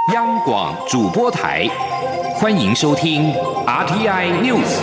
央广主播台，欢迎收听 RTI News。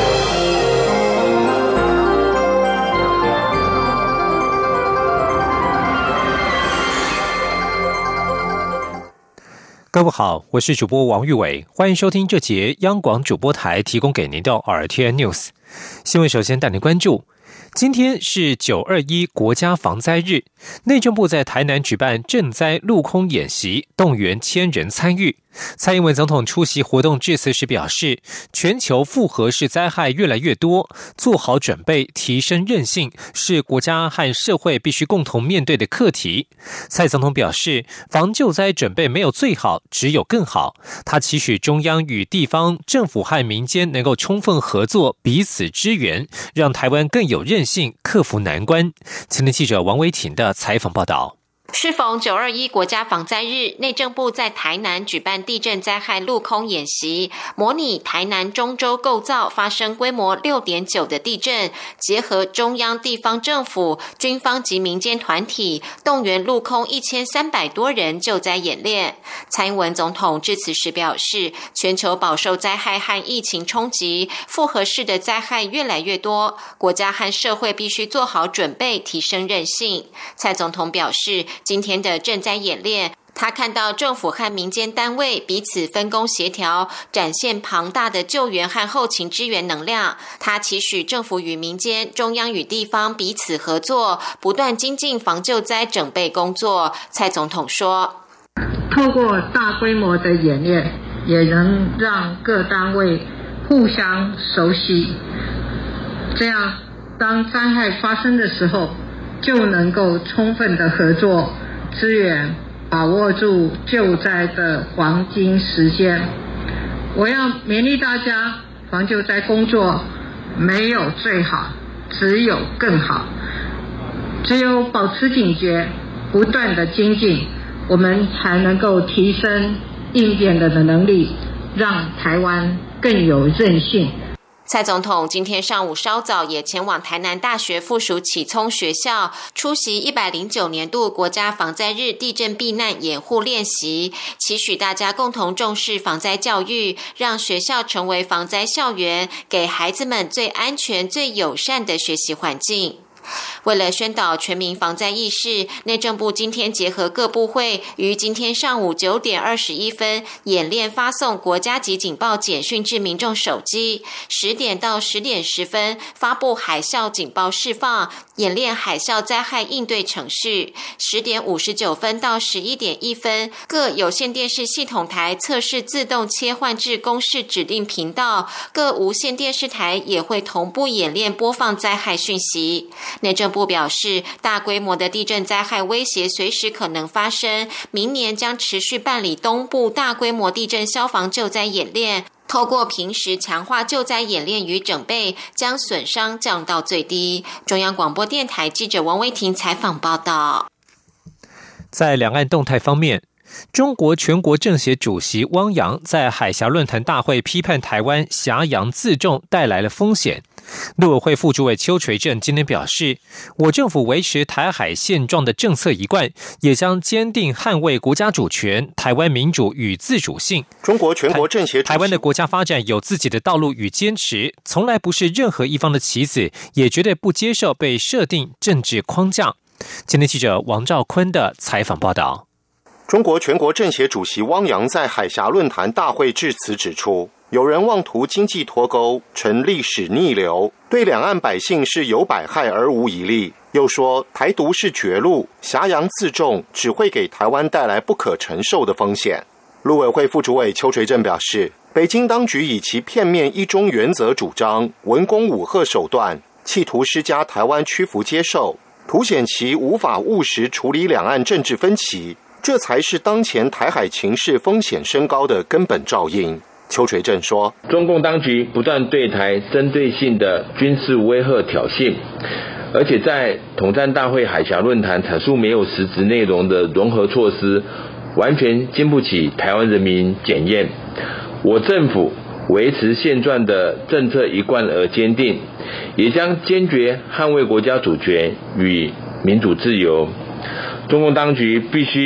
各位好，我是主播王玉伟，欢迎收听这节央广主播台提供给您的 RTI News 新闻。首先带您关注，今天是921国家防灾日，内政部在台南举办赈灾陆空演习，动员1000人参与。蔡英文总统出席活动致辞时表示，全球复合式灾害越来越多，做好准备，提升韧性，是国家和社会必须共同面对的课题。蔡总统表示，防救灾准备没有最好，只有更好。他期许中央与地方政府和民间能够充分合作，彼此支援，让台湾更有韧性，克服难关。前天记者王维婷的采访报道。 适逢921国家防灾日，内政部在台南举办地震灾害陆空演习，模拟台南中州构造发生规模 6.9 的地震，结合中央地方政府、军方及民间团体，动员陆空1300多人救灾演练。蔡英文总统致辞时表示，全球饱受灾害和疫情冲击，复合式的灾害越来越多，国家和社会必须做好准备，提升韧性。蔡总统表示，今天的赈灾演练，他看到政府和民间单位彼此分工协调，展现庞大的救援和后勤支援能量。他期许政府与民间、中央与地方彼此合作，不断精进防救灾准备工作。蔡总统说， 透过大规模的演练，也能让各单位互相熟悉，这样当灾害发生的时候，就能够充分的合作支援，把握住救灾的黄金时间。我要勉励大家，防救灾工作没有最好，只有更好。只有保持警觉，不断的精进，我们才能够提升应变的能力，让台湾更有韧性。 蔡总统今天上午稍早也前往台南大学附属启聪学校出席109年度国家防灾日地震避难掩护练习，期许大家共同重视防灾教育，让学校成为防灾校园，给孩子们最安全、最友善的学习环境。为了宣导全民防灾意识，内政部今天结合各部会，于今天上午9点21分演练发送国家级警报简讯至民众手机，10点到10点10分发布海啸警报释放，演练海啸灾害应对程序。10点59分到11点1分，各有线电视系统台测试自动切换至公视指定频道，各无线电视台也会同步演练播放灾害讯息。内政部表示，大规模的地震灾害威胁随时可能发生，明年将持续办理东部大规模地震消防救灾演练，透过平时强化救灾演练与整备，将损伤降到最低。中央广播电台记者王维婷采访报道。 在两岸动态方面，中国全国政协主席汪洋在海峡论坛大会批判台湾挟洋自重带来了风险。陆委会副主委邱垂正今天表示，我政府维持台海现状的政策一贯，也将坚定捍卫国家主权、台湾民主与自主性。 中国全国政协主席， 台湾的国家发展有自己的道路与坚持，从来不是任何一方的棋子，也绝对不接受被设定政治框架。今天记者王兆坤的采访报道。 中国全国政协主席汪洋在海峡论坛大会致辞指出，有人妄图经济脱钩，成历史逆流，对两岸百姓是有百害而无一利。又说台独是绝路，挟洋自重只会给台湾带来不可承受的风险。陆委会副主委邱垂正表示，北京当局以其片面一中原则主张、文攻武吓手段，企图施加台湾屈服接受，凸显其无法务实处理两岸政治分歧，这才是当前台海情势风险升高的根本肇因。邱垂正说， 中共当局不断对台针对性的军事威吓挑衅，而且在统战大会海峡论坛阐述没有实质内容的融合措施，完全经不起台湾人民检验。我政府维持现状的政策一贯而坚定，也将坚决捍卫国家主权与民主自由。中共当局必须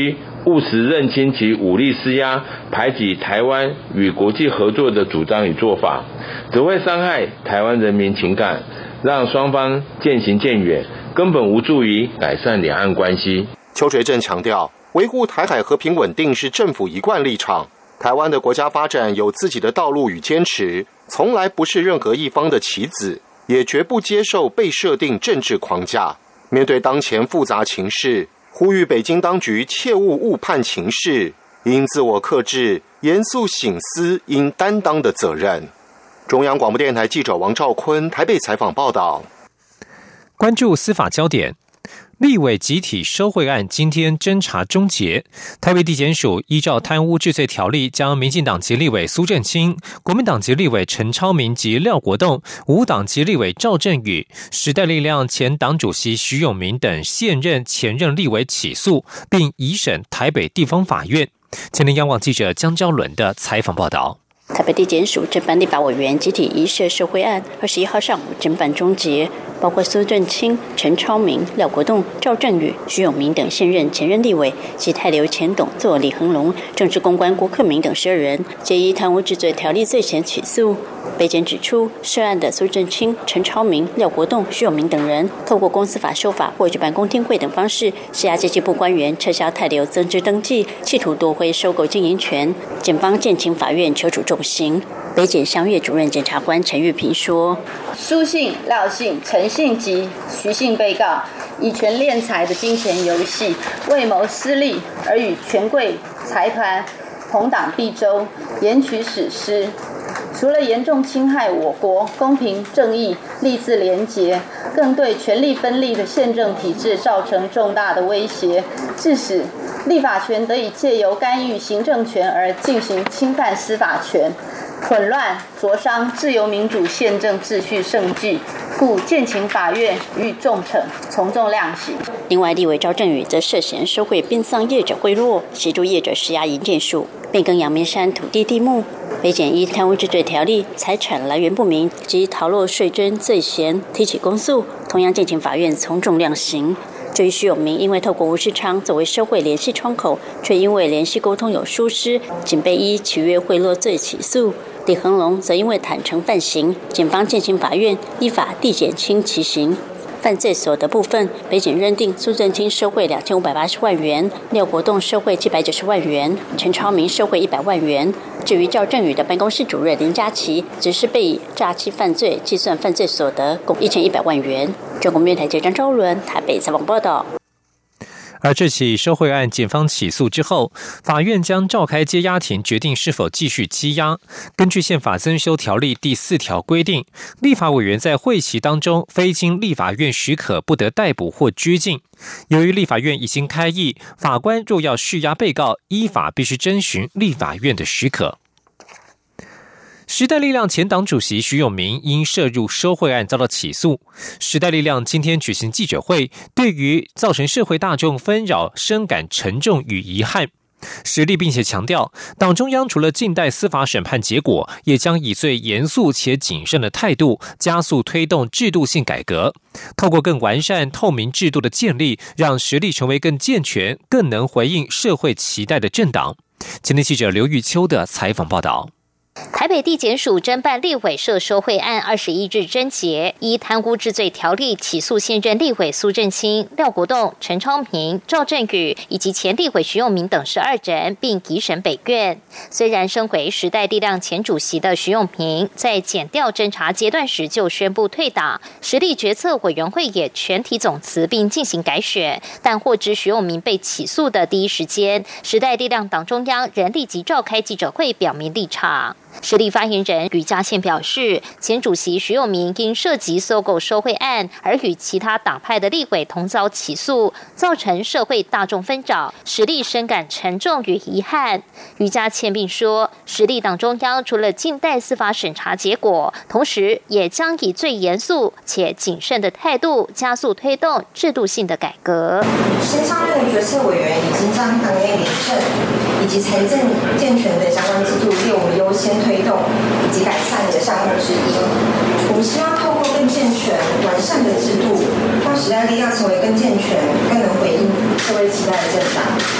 务实认清其武力施压、排挤台湾与国际合作的主张与做法，只会伤害台湾人民情感，让双方渐行渐远，根本无助于改善两岸关系。 邱垂正强调，维护台海和平稳定是政府一贯立场。台湾的国家发展有自己的道路与坚持，从来不是任何一方的棋子，也绝不接受被设定政治框架。面对当前复杂情势，呼吁北京当局切勿误判情势，应自我克制，严肃省思应担当的责任。中央广播电台记者王兆坤台北采访报道。 关注司法焦点。立委集体收贿案今天侦查终结，台北地检署依照贪污治罪条例，将民进党籍立委苏震清、国民党籍立委陈超明及廖国栋、无党籍立委赵振宇、时代力量前党主席徐永明等现任、前任立委起诉，并移审台北地方法院。前天央广记者江昭伦的采访报道。 台北地检署侦办立法委员集体移设受贿案，21号上午侦办终结，包括苏震清、陈超明、廖国栋、赵振宇、徐永明等现任、前任立委及泰流前董座李恒龙、政治公关郭克明等12人，皆依贪污治罪条例罪嫌起诉。北检指出，涉案的苏震清、陈超明、廖国栋、徐永明等人，透过公司法修法或举办公听会等方式，施压经济部官员撤销泰流增资登记，企图夺回收购经营权。检方建请法院求处重刑。北检襄岳主任检察官陈玉平说： 苏姓、廖姓、陈姓及徐姓被告以权敛财的金钱游戏，为谋私利而与权贵财团同党必周，延取史实。除了严重侵害我国公平正义、立自廉洁，更对权力分立的宪政体制造成重大的威胁，致使立法权得以借由干预行政权而进行侵犯司法权，混乱灼伤自由民主宪政秩序盛举，故建请法院予以重惩，从重量刑。 另外，立委赵振宇则涉嫌收贿殡葬业者贿赂，协助业者施压营建署，变更阳明山土地地目。北检依贪污治罪条例、财产来源不明及逃漏税征罪嫌提起公诉，同样建请法院从重量刑。至于徐永明，因为透过吴世昌作为收贿联系窗口，却因为联系沟通有疏失，仅被依契约贿赂罪起诉。李恒龙则因为坦诚犯行，检方建请法院依法递减轻其刑。犯罪所得部分，北检认定苏震清收贿2580万元，廖国栋收贿790万元，陈超明收贿100万元。至于赵振宇的办公室主任林佳琪，只是被以诈欺犯罪计算犯罪所得共1100万元。中国面台记者张昭伦台北采访报道。 而这起收贿案，检方起诉之后，法院将召开羁押庭，决定是否继续羁押。根据宪法增修条例第4条规定，立法委员在会期当中，非经立法院许可，不得逮捕或拘禁。由于立法院已经开议，法官若要释押被告，依法必须征询立法院的许可。时代力量前党主席徐永明因涉入收贿案遭到起诉。时代力量今天举行记者会，对于造成社会大众纷扰深感沉重与遗憾。实力并且强调，党中央除了静待司法审判结果，也将以最严肃且谨慎的态度，加速推动制度性改革，透过更完善透明制度的建立，让实力成为更健全、更能回应社会期待的政党。前天记者刘玉秋的采访报道。 台北地检署侦办立委涉收贿案21日侦结，依贪污治罪条例起诉现任立委苏震清、廖国栋、陈超明、赵振宇以及前立委徐永明等12人，并移审北院。虽然身为时代力量前主席的徐永明在检调侦查阶段时就宣布退党，实力决策委员会也全体总辞并进行改选，但获知徐永明被起诉的第一时间，时代力量党中央仍立即召开记者会表明立场。时力发言人吕嘉宪表示，前主席徐永明因涉及搜狗收贿案而与其他党派的立委同遭起诉，造成社会大众纷扰，时力深感沉重与遗憾。吕嘉宪并说，时力党中央除了静待司法审查结果，同时也将以最严肃且谨慎的态度，加速推动制度性的改革。 新上任的决策委员已经将党内廉政以及财政健全的相关制度列为优先推动以及改善的项目之一。我们希望透过更健全、完善的制度，让时代力量成为更健全、更能回应社会期待的政党。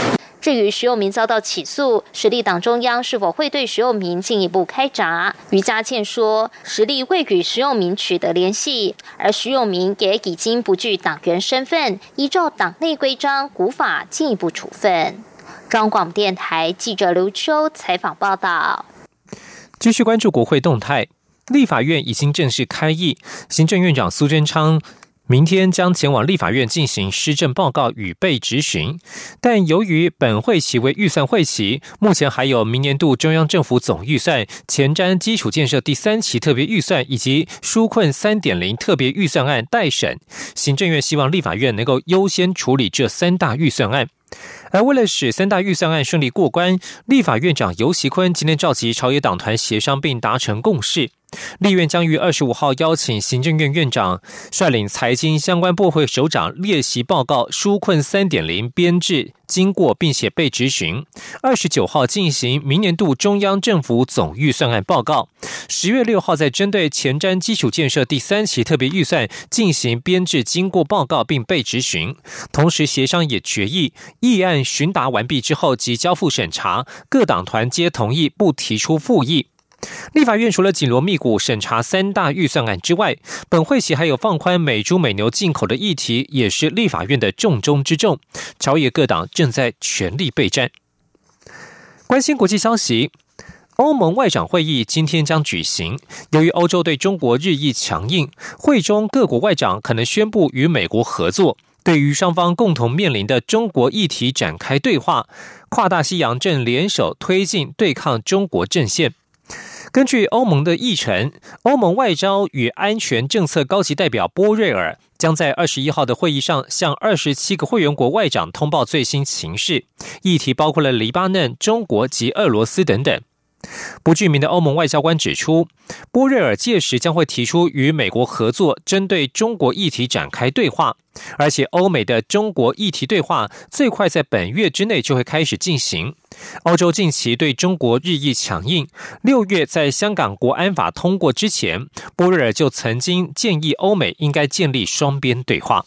至于徐永明遭到起诉，时力党中央是否会对徐永明进一步开闸？于嘉倩说，时力会与徐永明取得联系，而徐永明也已经不具党员身份，依照党内规章古法进一步处分。中央广播电台记者刘秋采访报道。 继续关注国会动态，立法院已经正式开议，行政院长苏贞昌明天将前往立法院进行施政报告与被质询，但由于本会期为预算会期，目前还有明年度中央政府总预算、前瞻基础建设第3期特别预算以及纾困 3.0 特别预算案待审。行政院希望立法院能够优先处理这3大预算案。而为了使3大预算案顺利过关，立法院长游锡堃今天召集朝野党团协商并达成共识。立院将于25号邀请行政院院长率领财经相关部会首长列席报告纾困 3.0 编制经过并且被质询，29号进行明年度中央政府总预算案报告，10月6号再针对前瞻基础建设第3期特别预算进行编制经过报告并被质询。同时协商也决议，议案询答完毕之后即交付审查，各党团皆同意不提出复议。立法院除了紧锣密鼓审查3大预算案之外，本会期还有放宽美猪美牛进口的议题，也是立法院的重中之重。朝野各党正在全力备战。关心国际消息，欧盟外长会议今天将举行，由于欧洲对中国日益强硬，会中各国外长可能宣布与美国合作，对于双方共同面临的中国议题展开对话，跨大西洋正联手推进对抗中国阵线。根据欧盟的议程，欧盟外交与安全政策高级代表波瑞尔将在21号的会议上向27个会员国外长通报最新情势，议题包括了黎巴嫩、中国及俄罗斯等等。不具名的欧盟外交官指出，波瑞尔届时将会提出与美国合作，针对中国议题展开对话，而且欧美的中国议题对话最快在本月之内就会开始进行。欧洲近期对中国日益强硬，6月在香港国安法通过之前，波瑞尔就曾经建议欧美应该建立双边对话。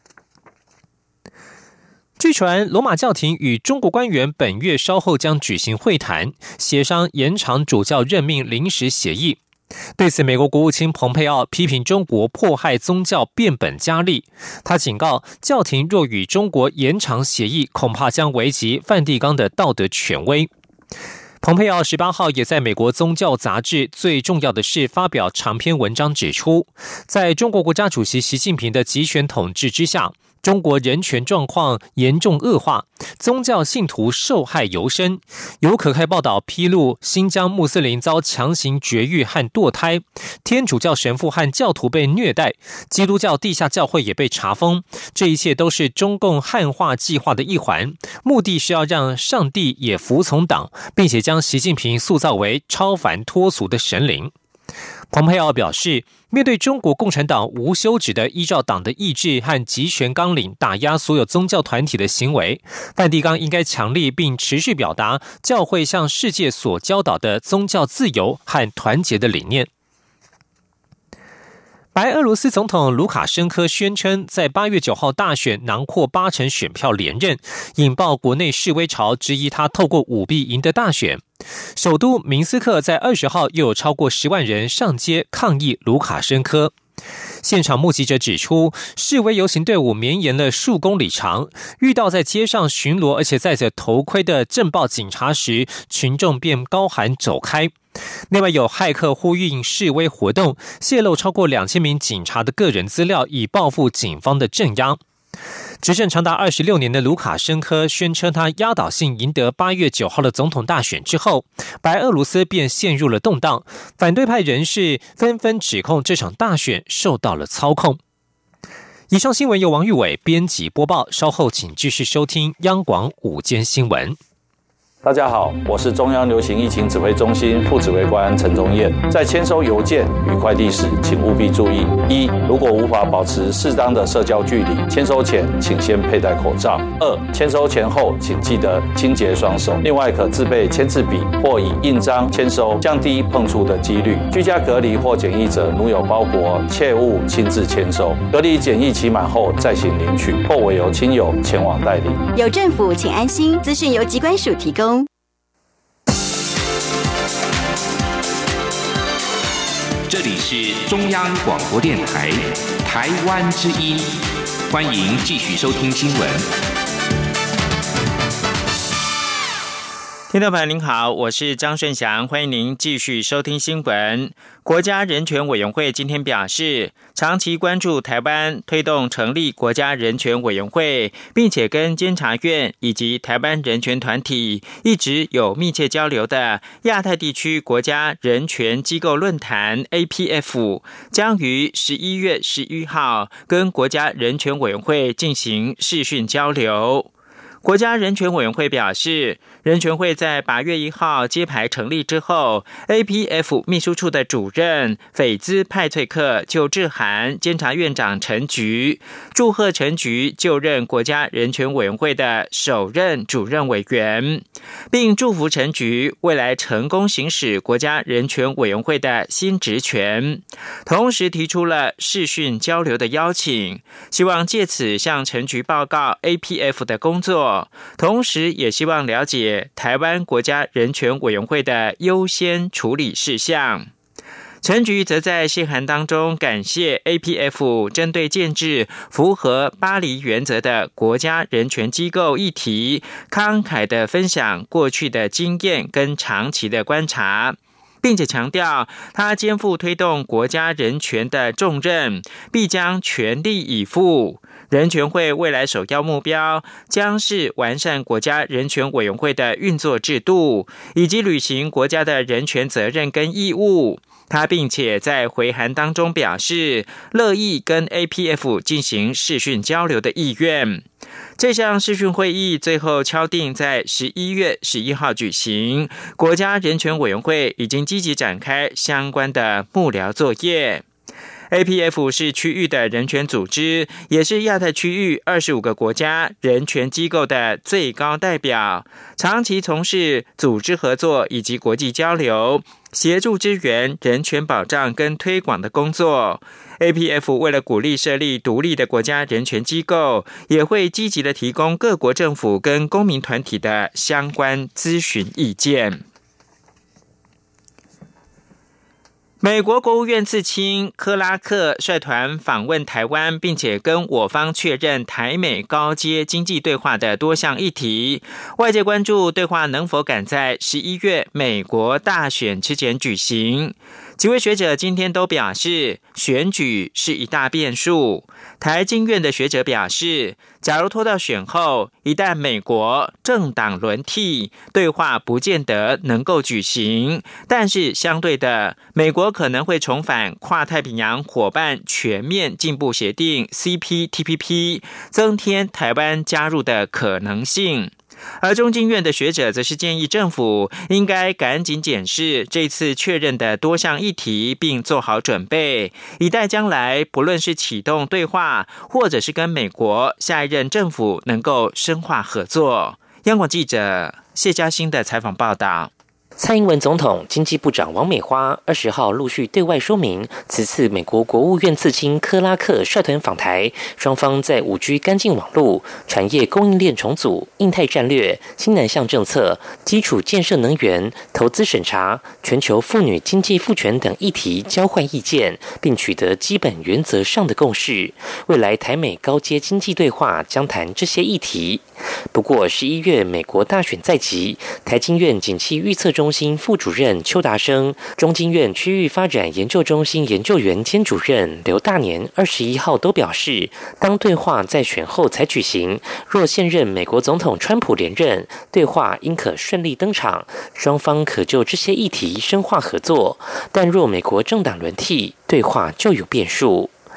据传，罗马教廷与中国官员本月稍后将举行会谈，协商延长主教任命临时协议。对此，美国国务卿蓬佩奥批评中国迫害宗教变本加厉。他警告，教廷若与中国延长协议，恐怕将危及梵蒂冈的道德权威。蓬佩奥18号也在美国宗教杂志《最重要的事》发表长篇文章，指出，在中国国家主席习近平的集权统治之下，中国人权状况严重恶化，宗教信徒受害尤深。有可靠报道披露，新疆穆斯林遭强行绝育和堕胎，天主教神父和教徒被虐待，基督教地下教会也被查封。这一切都是中共汉化计划的一环，目的是要让上帝也服从党，并且将习近平塑造为超凡脱俗的神灵。蓬佩奥表示，面对中国共产党无休止的依照党的意志和集权纲领打压所有宗教团体的行为，梵蒂冈应该强力并持续表达教会向世界所教导的宗教自由和团结的理念。白俄罗斯总统卢卡申科宣称，在8月9号大选囊括80%选票连任，引爆国内示威潮，质疑他透过舞弊赢得大选。首都明斯克在20号又有超过10万人上街抗议卢卡申科。现场目击者指出，示威游行队伍绵延了数公里长，遇到在街上巡逻而且戴着头盔的政报警察时，群众便高喊走开。另外有骇客呼应示威活动，泄露超过2000名警察的个人资料，以报复警方的镇压。执政长达26年的卢卡申科宣称，他压倒性赢得8月9号的总统大选之后，白俄罗斯便陷入了动荡，反对派人士纷纷指控这场大选受到了操控。以上新闻由王玉伟编辑播报，稍后请继续收听央广午间新闻。 大家好，我是中央流行疫情指挥中心副指挥官陈宗彦。在签收邮件与快递时，请务必注意：一、如果无法保持适当的社交距离，签收前请先佩戴口罩；二、签收前后请记得清洁双手。另外，可自备签字笔或以印章签收，降低碰触的几率。居家隔离或检疫者，如有包裹，切勿亲自签收。隔离检疫期满后再行领取，或委由亲友前往代理。 有政府，请安心。资讯由疾管署提供。 这里是中央广播电台台湾之音，欢迎继续收听新闻。 听众朋友您好，我是张顺祥，欢迎您继续收听新闻。国家人权委员会今天表示，长期关注台湾推动成立国家人权委员会，并且跟监察院以及台湾人权团体一直有密切交流的亚太地区国家人权机构论坛 APF 将于11月11号跟国家人权委员会进行视讯交流。国家人权委员会表示，人权会在8月1号揭牌成立之后， APF 秘书处的主任斐兹派翠克就致函监察院长陈菊，祝贺陈菊就任国家人权委员会的首任主任委员，并祝福陈菊未来成功行使国家人权委员会的新职权，同时提出了视讯交流的邀请，希望借此向陈菊报告 APF 的工作，同时也希望了解台湾国家人权委员会的优先处理事项。陈菊则在信函当中感谢 APF 针对建制符合巴黎原则的国家人权机构议题，慷慨地分享过去的经验跟长期的观察，并且强调他肩负推动国家人权的重任，必将全力以赴。人权会未来首要目标将是完善国家人权委员会的运作制度，以及履行国家的人权责任跟义务。他并且在回函当中表示，乐意跟 APF 进行视讯交流的意愿。这项视讯会议最后敲定在11月11号举行，国家人权委员会已经积极展开相关的幕僚作业。APF 是区域的人权组织，也是亚太区域25个国家人权机构的最高代表，长期从事组织合作以及国际交流，协助支援人权保障跟推广的工作。APF 为了鼓励设立独立的国家人权机构，也会积极的提供各国政府跟公民团体的相关咨询意见。美国国务院次卿克拉克率团访问台湾，并且跟我方确认台美高阶经济对话的多项议题。外界关注对话能否赶在11月美国大选之前举行。几位学者今天都表示，选举是一大变数。台经院的学者表示，假如拖到选后，一旦美国政党轮替，对话不见得能够举行。但是相对的，美国可能会重返跨太平洋伙伴全面进步协定 CPTPP， 增添台湾加入的可能性。而中经院的学者则是建议政府应该赶紧检视这次确认的多项议题，并做好准备，以待将来不论是启动对话，或者是跟美国下一任政府能够深化合作。央广记者谢嘉欣的采访报道。 蔡英文总统、经济部长王美花20号陆续对外说明，此次美国国务院次卿克拉克率团访台，双方在5G 干净网络、产业供应链重组、印太战略、新南向政策、基础建设能源、投资审查、全球妇女经济赋权等议题交换意见，并取得基本原则上的共识。未来台美高阶经济对话将谈这些议题。不过11月美国大选在即，台经院景气预测中心副主任邱达生、中经院区域发展研究中心研究员兼主任刘大年21号都表示，当对话在选后才举行，若现任美国总统川普连任，对话应可顺利登场，双方可就这些议题深化合作。但若美国政党轮替，对话就有变数。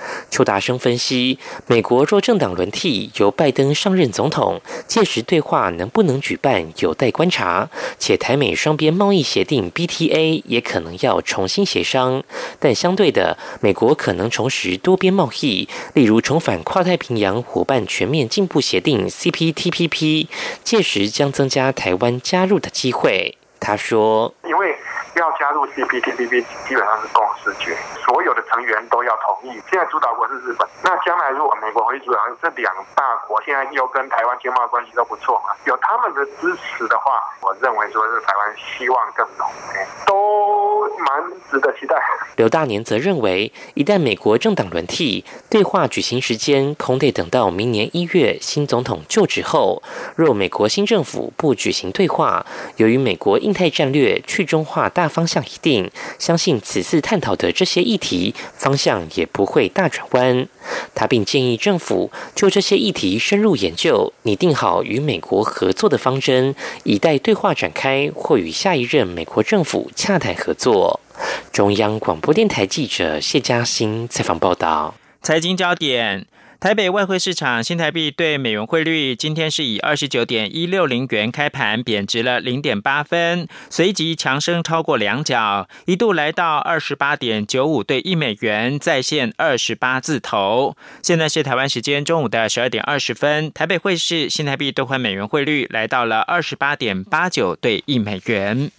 邱达生分析，美国若政党轮替，由拜登上任总统，届时对话能不能举办有待观察，且台美双边贸易协定 BTA 也可能要重新协商。但相对的，美国可能重拾多边贸易，例如重返跨太平洋伙伴全面进步协定 CPTPP， 届时将增加台湾加入的机会。他说， 因为要加入 CPTPP 基本上是共识决，所有的成员都要同意。现在主导国是日本，那将来如果美国回主导，这两大国现在又跟台湾经贸关系都不错嘛，有他们的支持的话，我认为说是台湾希望更浓，都蛮值得期待。 刘大年则认为，一旦美国政党轮替，对话举行时间恐得等到明年1月新总统就职后。若美国新政府不举行对话，由于美国印太战略去中化大方向已定，相信此次探讨的这些议题方向也不会大转弯。他并建议政府就这些议题深入研究，拟定好与美国合作的方针，以待对话展开或与下一任美国政府洽谈合作。中央广播电台记者谢嘉欣采访报道。 财经焦点，台北外汇市场新台币对美元汇率今天是以29.160元开盘，贬值了0.8分，随即强升超过2角，一度来到28.95对1美元，再现28字头。现在是台湾时间中午的12点20分，台北汇市新台币兑换美元汇率来到了28.89对1美元。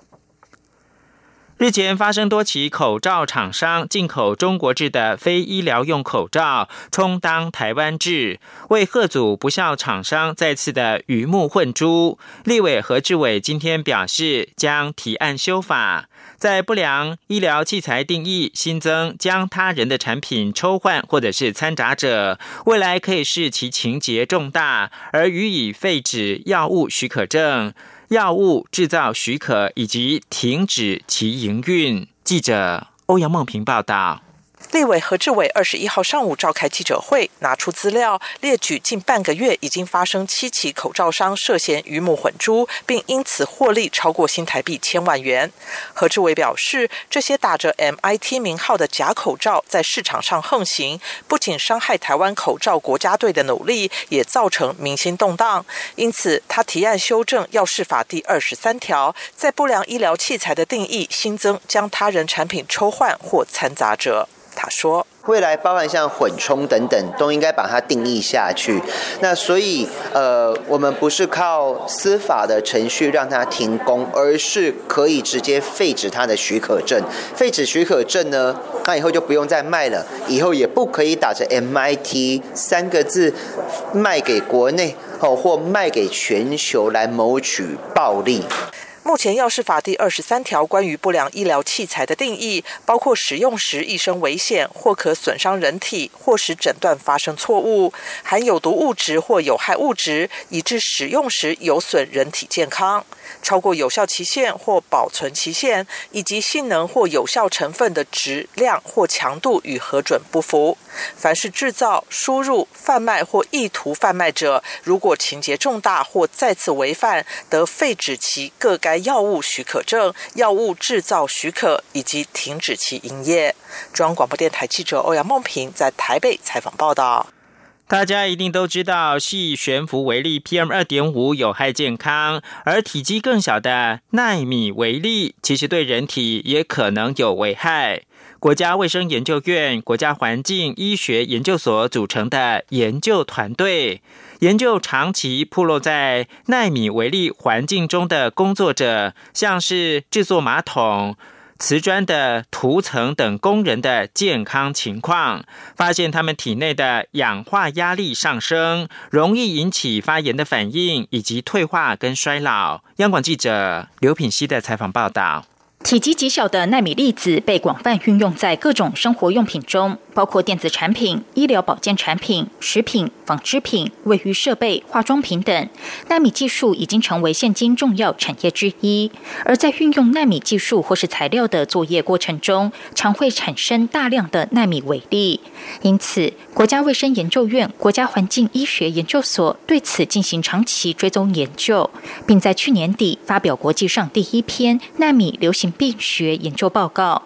日前发生多起口罩厂商进口中国制的非医疗用口罩，充当台湾制，为吓阻不肖厂商再次的鱼目混珠。立委何志伟今天表示，将提案修法，在不良医疗器材定义新增将他人的产品抽换或者是掺杂者，未来可以视其情节重大而予以废止药物许可证、药物制造许可以及停止其营运。记者欧阳梦平报道。 立委何志伟21号上午召开记者会，拿出资料列举近半个月已经发生7起口罩商涉嫌鱼目混珠，并因此获利超过新台币1000万元。何志伟表示，这些打着 MIT 名号的假口罩在市场上横行，不仅伤害台湾口罩国家队的努力，也造成民心动荡。因此他提案修正药事法第23条，在不良医疗器材的定义新增将他人产品抽换或掺杂者。他说， 未来包含像混充等等都应该把它定义下去。那所以我们不是靠司法的程序让它停工，而是可以直接废止它的许可证。废止许可证呢，那以后就不用再卖了，以后也不可以打着 MIT 3个字卖给国内或卖给全球来谋取暴利。 目前药事法第23条关于不良医疗器材的定义，包括使用时易生危险或可损伤人体，或使诊断发生错误，含有毒物质或有害物质，以致使用时有损人体健康，超过有效期限或保存期限，以及性能或有效成分的质量或强度与核准不符。凡是制造、输入、贩卖或意图贩卖者，如果情节重大或再次违反，得废止其各该药物许可证、药物制造许可以及停止其营业。中央广播电台记者欧阳梦平在台北采访报道。 大家一定都知道细悬浮微粒 PM2.5 有害健康，而体积更小的奈米微粒其实对人体也可能有危害。国家卫生研究院国家环境医学研究所组成的研究团队，研究长期暴露在奈米微粒环境中的工作者，像是制作马桶、瓷砖的涂层等工人的健康情况，发现他们体内的氧化压力上升，容易引起发炎的反应以及退化跟衰老。央广记者刘品希的采访报道。 体积极小的奈米粒子被广泛运用在各种生活用品中，包括电子产品、医疗保健产品、食品、纺织品、卫浴设备、化妆品等。奈米技术已经成为现今重要产业之一。而在运用奈米技术或是材料的作业过程中，常会产生大量的奈米微粒。因此，国家卫生研究院国家环境医学研究所对此进行长期追踪研究，并在去年底发表国际上第1篇奈米流行病学研究报告。国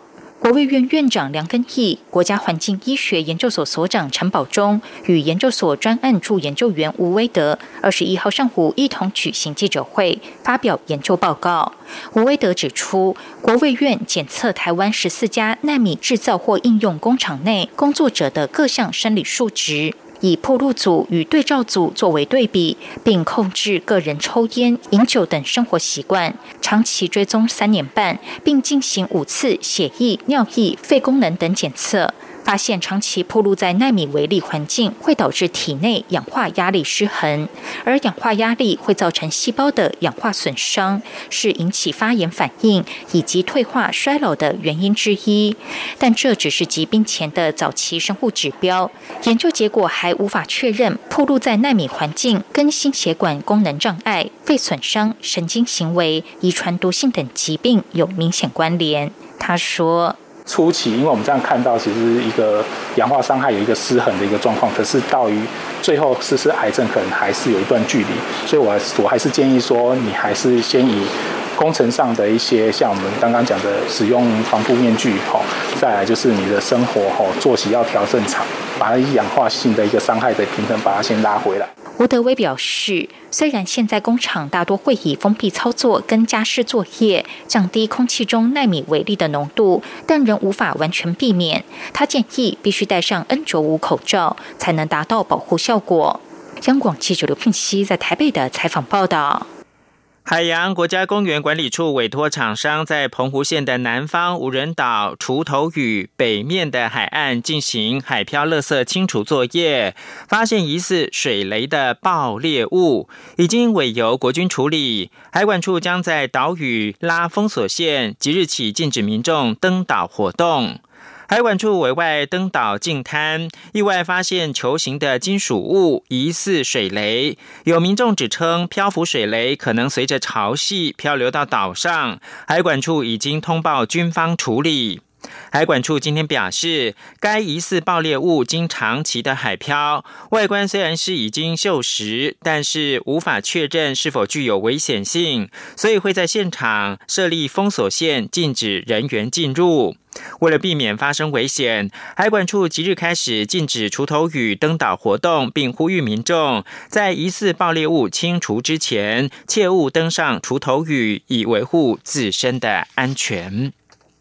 国卫院院长梁根义、国家环境医学研究所所长陈保忠与研究所专案助研究员吴威德21号上午一同举行记者会，发表研究报告。吴威德指出，国卫院检测台湾14家奈米制造或应用工厂内工作者的各项生理数值，以暴露组与对照组作为对比，并控制个人抽烟、饮酒等生活习惯，长期追踪3年半，并进行5次血液、尿液、肺功能等检测。发现长期暴露在奈米微粒环境会导致体内氧化压力失衡，而氧化压力会造成细胞的氧化损伤，是引起发炎反应以及退化衰老的原因之一。但这只是疾病前的早期生物指标，研究结果还无法确认暴露在奈米环境跟心血管功能障碍、肺损伤、神经行为、遗传毒性等疾病有明显关联。他说， 初期，因为我们这样看到，其实一个氧化伤害有一个失衡的一个状况，可是到于最后实癌症可能还是有一段距离，所以我还是建议说，你还是先以工程上的一些，像我们刚刚讲的使用防护面具，再来就是你的生活作息要调正常，把它氧化性的一个伤害的平衡把它先拉回来。 吴德威表示，虽然现在工厂大多会以封闭操作跟加湿作业降低空气中奈米微粒的浓度，但仍无法完全避免。他建议必须戴上 N95 口罩，才能达到保护效果。央广记者刘聘熙在台北的采访报道。 海洋国家公园管理处委托厂商在澎湖县的南方无人岛锄头屿北面的海岸进行海漂垃圾清除作业，发现疑似水雷的爆裂物，已经委由国军处理。海管处将在岛屿拉封锁线，即日起禁止民众登岛活动。海管处委外登岛净滩，意外发现球形的金属物，疑似水雷。有民众指称漂浮水雷可能随着潮汐漂流到岛上，海管处已经通报军方处理。海管处今天表示，该疑似爆裂物经长期的海漂，外观虽然是已经锈蚀，但是无法确认是否具有危险性，所以会在现场设立封锁线，禁止人员进入。为了避免发生危险，海管处即日开始禁止锄头屿登岛活动，并呼吁民众在疑似爆裂物清除之前，切勿登上锄头屿，以维护自身的安全。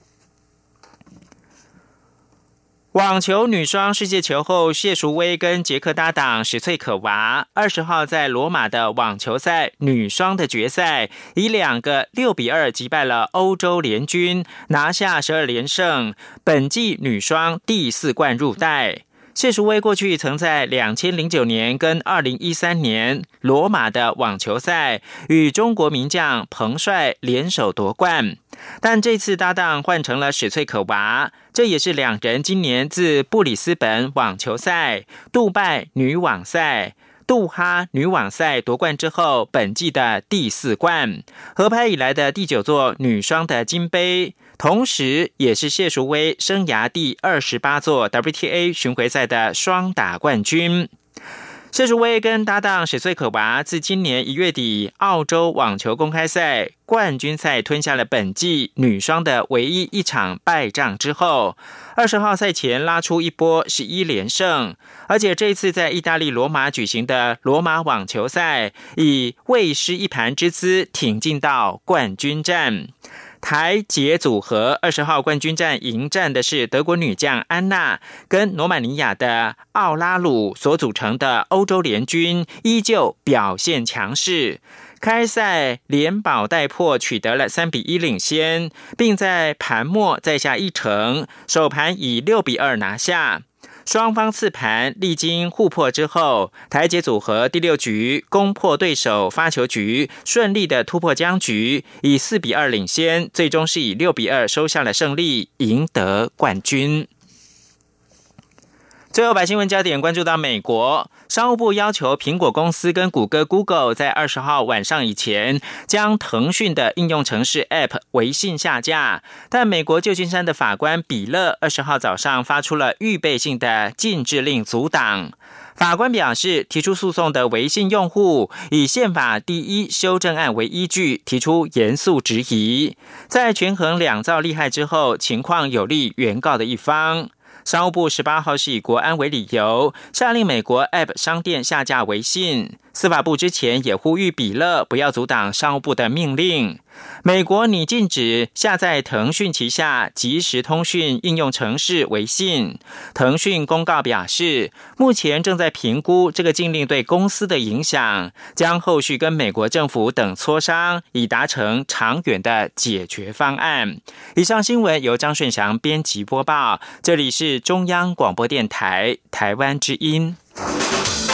网球女双世界球后谢淑薇跟捷克搭档史翠可娃20号在罗马的网球赛女双的决赛，以2个6-2击败了欧洲联军，拿下12连胜，本季女双第4冠入袋。谢淑薇过去曾在2009年跟2013年罗马的网球赛与中国名将彭帅联手夺冠，但这次搭档换成了史翠可娃，这也是2人今年自布里斯本网球赛、杜拜女网赛、杜哈女网赛夺冠之后，本季的第4冠，合拍以来的第9座女双的金杯，同时也是谢淑薇生涯第28座 WTA 巡回赛的双打冠军。谢淑薇跟搭档史翠可娃自今年1月底澳洲网球公开赛冠军赛吞下了本季女双的唯一一场败仗之后，20号赛前拉出一波11连胜，而且这次在意大利罗马举行的罗马网球赛，以未失一盘之姿挺进到冠军战。台捷组合20号冠军战迎战的是德国女将安娜跟罗马尼亚的奥拉鲁所组成的欧洲联军，依旧表现强势。开赛连保带破取得了3-1领先，并在盘末再下一城，首盘以6-2拿下。双方次盘历经互破之后，台捷组合第6局攻破对手发球局，顺利的突破僵局，以4-2领先，最终是以6-2收下了胜利，赢得冠军。最后把新闻焦点关注到美国，商务部要求苹果公司跟谷歌 Google 在20号晚上以前将腾讯的应用程式 App 微信下架，但美国旧金山的法官比勒20号早上发出了预备性的禁制令阻挡。 法官表示，提出诉讼的微信用户以宪法第1修正案为依据，提出严肃质疑。在权衡两造利害之后，情况有利原告的一方。商务部18号是以国安为理由，下令美国 App 商店下架微信。司法部之前也呼吁比勒不要阻挡商务部的命令。美国拟禁止下载腾讯旗下即时通讯应用程式微信。腾讯公告表示，目前正在评估这个禁令对公司的影响，将后续跟美国政府等磋商，以达成长远的解决方案。以上新闻由张顺祥编辑播报，这里是中央广播电台台湾之音。